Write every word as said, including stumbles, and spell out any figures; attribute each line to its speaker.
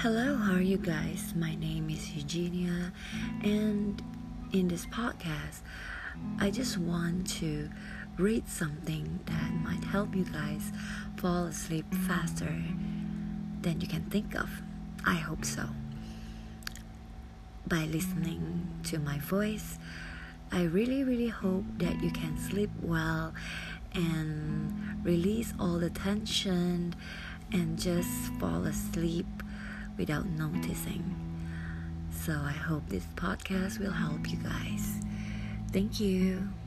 Speaker 1: Hello, how are you guys? My name is Eugenia, and in this podcast, I just want to read something that might help you guys fall asleep faster than you can think of. I hope so. By listening to my voice, I really, really hope that you can sleep well and release all the tension and just fall asleep without noticing. So I hope this podcast will help you guys. Thank you.